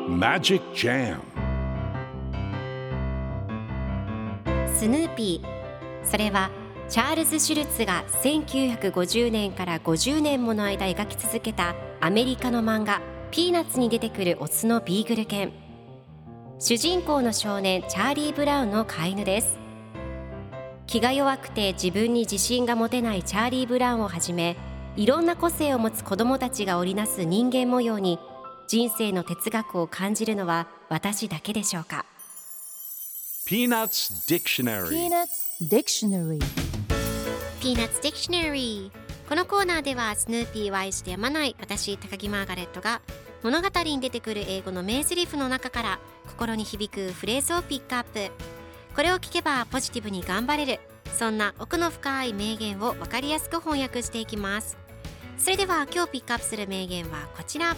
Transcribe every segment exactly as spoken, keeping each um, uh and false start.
Magic Jam スヌーピー、それはチャールズ・シュルツがせんきゅうひゃくごじゅうねんからごじゅうねんもの間描き続けたアメリカの漫画ピーナッツに出てくるオスのビーグル犬。主人公の少年チャーリー・ブラウンの飼い犬です。気が弱くて自分に自信が持てないチャーリー・ブラウンをはじめ、いろんな個性を持つ子どもたちが織りなす人間模様に人生の哲学を感じるのは私だけでしょうか。 Peanuts Dictionary Peanuts Dictionary Peanuts Dictionary。 このコーナーではスヌーピーを愛してやまない私高木マーガレットが物語に出てくる英語の名台詞の中から心に響くフレーズをピックアップ。これを聞けばポジティブに頑張れる、そんな奥の深い名言を分かりやすく翻訳していきます。それでは今日ピックアップする名言はこちら。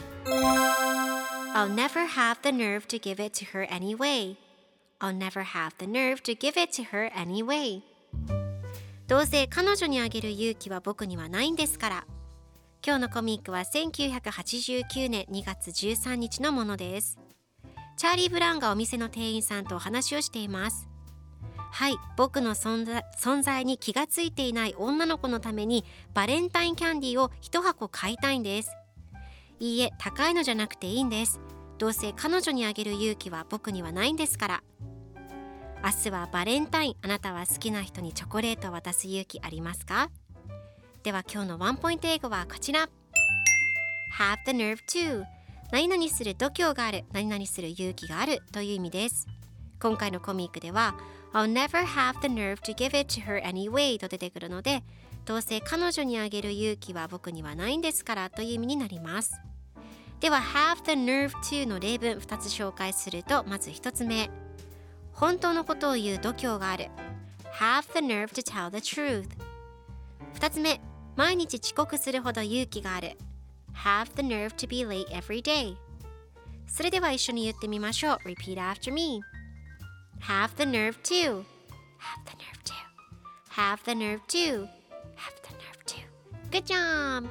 I'll never have the nerve to give it to her anyway. I'll never have the nerve to give it to her anyway. どうせ彼女にあげる勇気は僕にはないんですから。今日のコミックはせんきゅうひゃくはちじゅうきゅうねんにがつじゅうさんにちのものです。チャーリー・ブラウンがお店の店員さんとお話をしています。はい、僕の存在、存在に気がついていない女の子のためにバレンタインキャンディーを一箱買いたいんです。いいえ、高いのじゃなくていいんです。どうせ彼女にあげる勇気は僕にはないんですから。明日はバレンタイン、あなたは好きな人にチョコレートを渡す勇気ありますか？では今日のワンポイント英語はこちら。 Have the nerve to、 何々する度胸がある、何々する勇気があるという意味です。今回のコミックでは I'll never have the nerve to give it to her anyway と出てくるので、どうせ彼女にあげる勇気は僕にはないんですからという意味になります。では have the nerve to の例文ふたつ紹介すると、まずひとつめ、本当のことを言う度胸がある have the nerve to tell the truth。 ふたつめ、毎日遅刻するほど勇気がある have the nerve to be late every day。 それでは一緒に言ってみましょう。 Repeat after me。 Have the nerve to Have the nerve to Have the nerve to Have the nerve to Good job。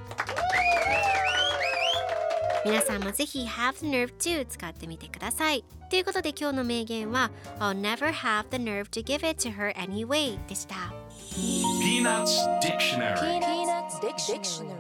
皆さんもぜひ Have the nerve to 使ってみてください。ということで今日の名言は I'll never have the nerve to give it to her anyway でした。 Peanuts Dictionary Peanuts Dictionary